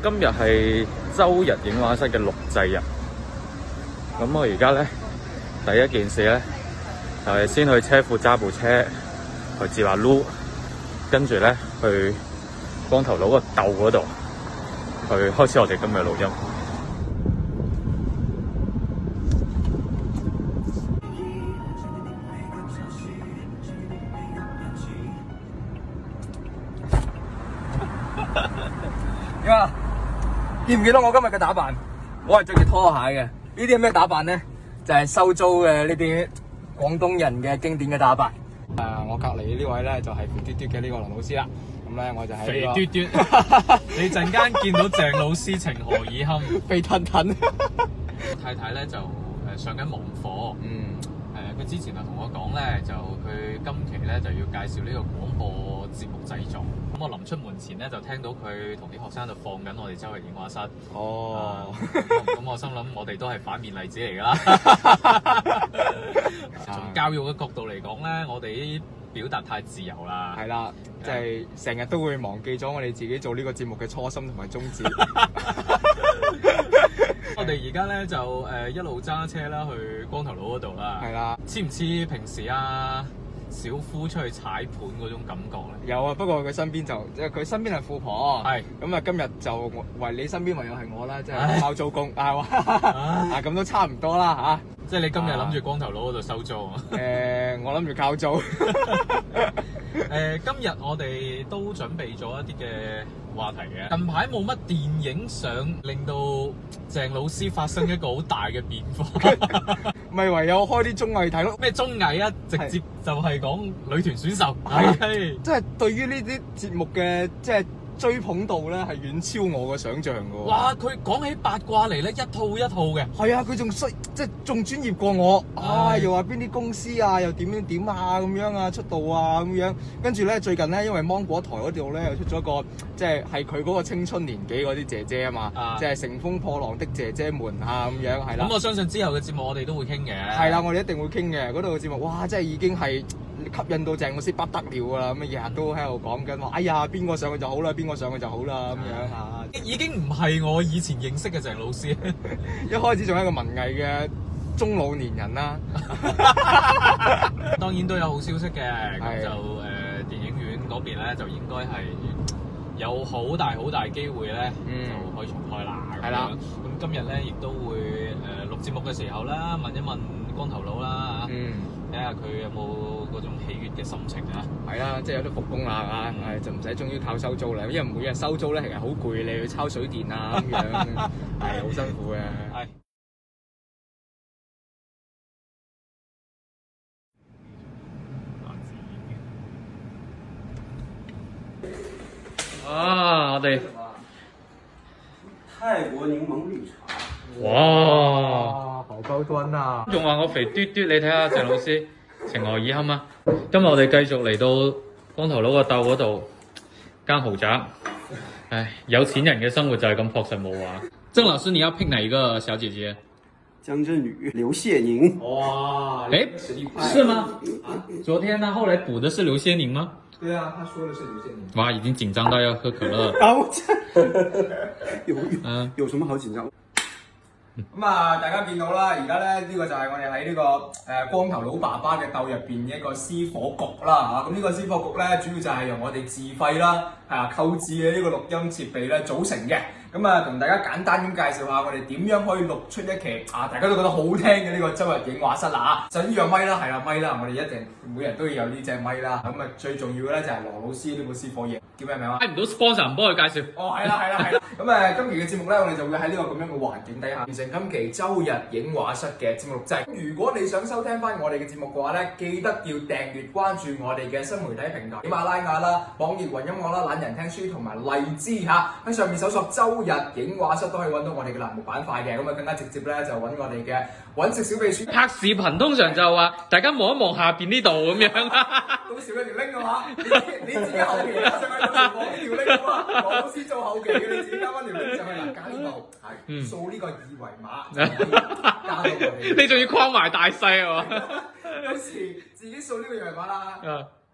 今日係周日影畫室嘅錄製日，咁我而家咧第一件事咧就係先去車庫揸部車去接下擼，跟住咧去光頭佬個竇嗰度去開始我哋今日錄音。 點啊？見唔見到我今日嘅打扮？我係着住拖鞋嘅。呢啲係咩打扮咧？就係收租嘅呢啲廣東人嘅經典嘅打扮。我隔離呢位咧就係肥嘟嘟嘅呢個林老師啦。咁咧我就喺肥嘟嘟，你陣間見到鄭老師情何以堪？ 肥騰騰。 太太咧就上緊網課。佢之前就同我講咧，就佢今期咧就要介紹呢個廣播節目製作。咁我臨出門前咧就聽到佢同啲學生就放緊我哋周日影畫室。 哦。 咁我心諗我哋都係反面例子嚟㗎啦。從教育嘅角度嚟講咧，我哋啲表達太自由啦。 係啦，即係成日都會忘記咗我哋自己做呢個節目嘅初心同埋宗旨。 我哋而家咧就一路揸車啦去光頭佬嗰度啦。 係啦， 似唔似平時小夫出去踩盤嗰種感覺咧？ 有啊，不過佢身邊就即係佢身邊係富婆。 係咁啊，今日就為你身邊唯有係我啦，即係包租公係嘛？咁都差唔多啦嚇。 即係你今日諗住光頭佬嗰度收租啊？ 我諗住交租。 今日我哋都準備咗一啲嘅話題嘅。近排冇乜電影想令到鄭老師發生一個好大嘅變化， 咪唯有開啲綜藝睇咯。 咩綜藝啊？直接就係講女團選秀。係， 即係對於呢啲節目嘅即係追捧度咧，係遠超我嘅想像㗎喎。 哇！佢講起八卦嚟咧，一套一套嘅。 係啊，佢仲即係仲專業過我。又話邊啲公司啊，又點啊咁樣啊，出道啊咁樣。跟住咧，最近咧，因為芒果台嗰度咧又出咗個即係佢嗰個青春年紀嗰啲姐姐啊嘛，即係乘風破浪的姐姐們啊咁樣係啦。 咁我相信之後嘅節目我哋都會傾嘅。 係啦，我哋一定會傾嘅。嗰度嘅節目，哇！真係已經係吸引到鄭老師不得了㗎啦。咁日日都喺度講緊話，哎呀，邊個上去就好啦，邊個上去就好啦咁樣嚇。 已經唔係我以前認識嘅鄭老師。 一開始仲係一個文藝嘅中老年人啦。 當然都有好消息嘅，咁就電影院嗰邊咧就應該係有好大機會咧，就可以重開啦。係啦，咁今日咧亦都會錄節目嘅時候啦，問一問光頭佬啦嚇，睇下佢有冇嗰種喜悅嘅心情啊。 係啦，即係有得復工啦嚇，就唔使終於靠收租啦，因為每日收租咧其實好攰，你去抄水電啊咁樣，係好辛苦嘅。係。 我哋泰國檸檬綠茶。 哇， 好高端啊！ 仲話我肥嘟嘟，你睇下鄭老師情何以堪啊！今日我哋繼續嚟到光頭佬個竇嗰度間豪宅。唉，有錢人嘅生活就係咁樸實無華。鄭老師，你要 pick 哪一個小姐姐？ 江振宇、劉謝寧。 哇，是嗎？昨天他後來補的是劉謝寧嗎？ 對啊，他說的是劉謝寧。 哇，已經緊張到要喝可樂。 有什麼好緊張？ 咁啊，大家見到啦，而家咧呢個就係我哋喺呢個光頭佬爸爸嘅竇入邊嘅一個私伙局啦嚇。咁呢個私伙局咧，主要就係由我哋自費啦，購置嘅呢個錄音設備咧組成嘅。咁啊，同大家簡單咁介紹下我哋點樣可以錄出一期大家都覺得好聽嘅呢個周日影畫室啦嚇。就呢樣咪啦，係啦咪啦，我哋一定每人都要有呢隻咪啦。咁啊，最重要嘅咧就係羅老師呢個私伙嘢，叫咩名啊？ 睇唔到 sponsor 唔幫佢介紹。 係啦。咁今期嘅節目咧，我哋就會喺呢個咁樣嘅環境底下完成今期周日影畫室嘅節目錄製。如果你想收聽翻我哋嘅節目嘅話咧，記得要訂閱關注我哋嘅新媒體平台喜馬拉雅啦、網易雲音樂啦、懶人聽書同埋荔枝嚇，喺上面搜索周日影畫室都可以揾到我哋嘅欄目板塊嘅。咁啊，更加直接咧就揾我哋嘅揾食小秘書。 拍視頻通常就話大家望一望下邊呢度咁樣。 到時佢條 link 嘅話，你自己後期上去到時望呢條 link 嘅話，羅老師做後期嘅，你自己加翻條 link 上去嗱，加呢部係掃呢個二維碼，加到我哋。 你仲要框埋大細喎。 有時自己掃呢個二維碼啦。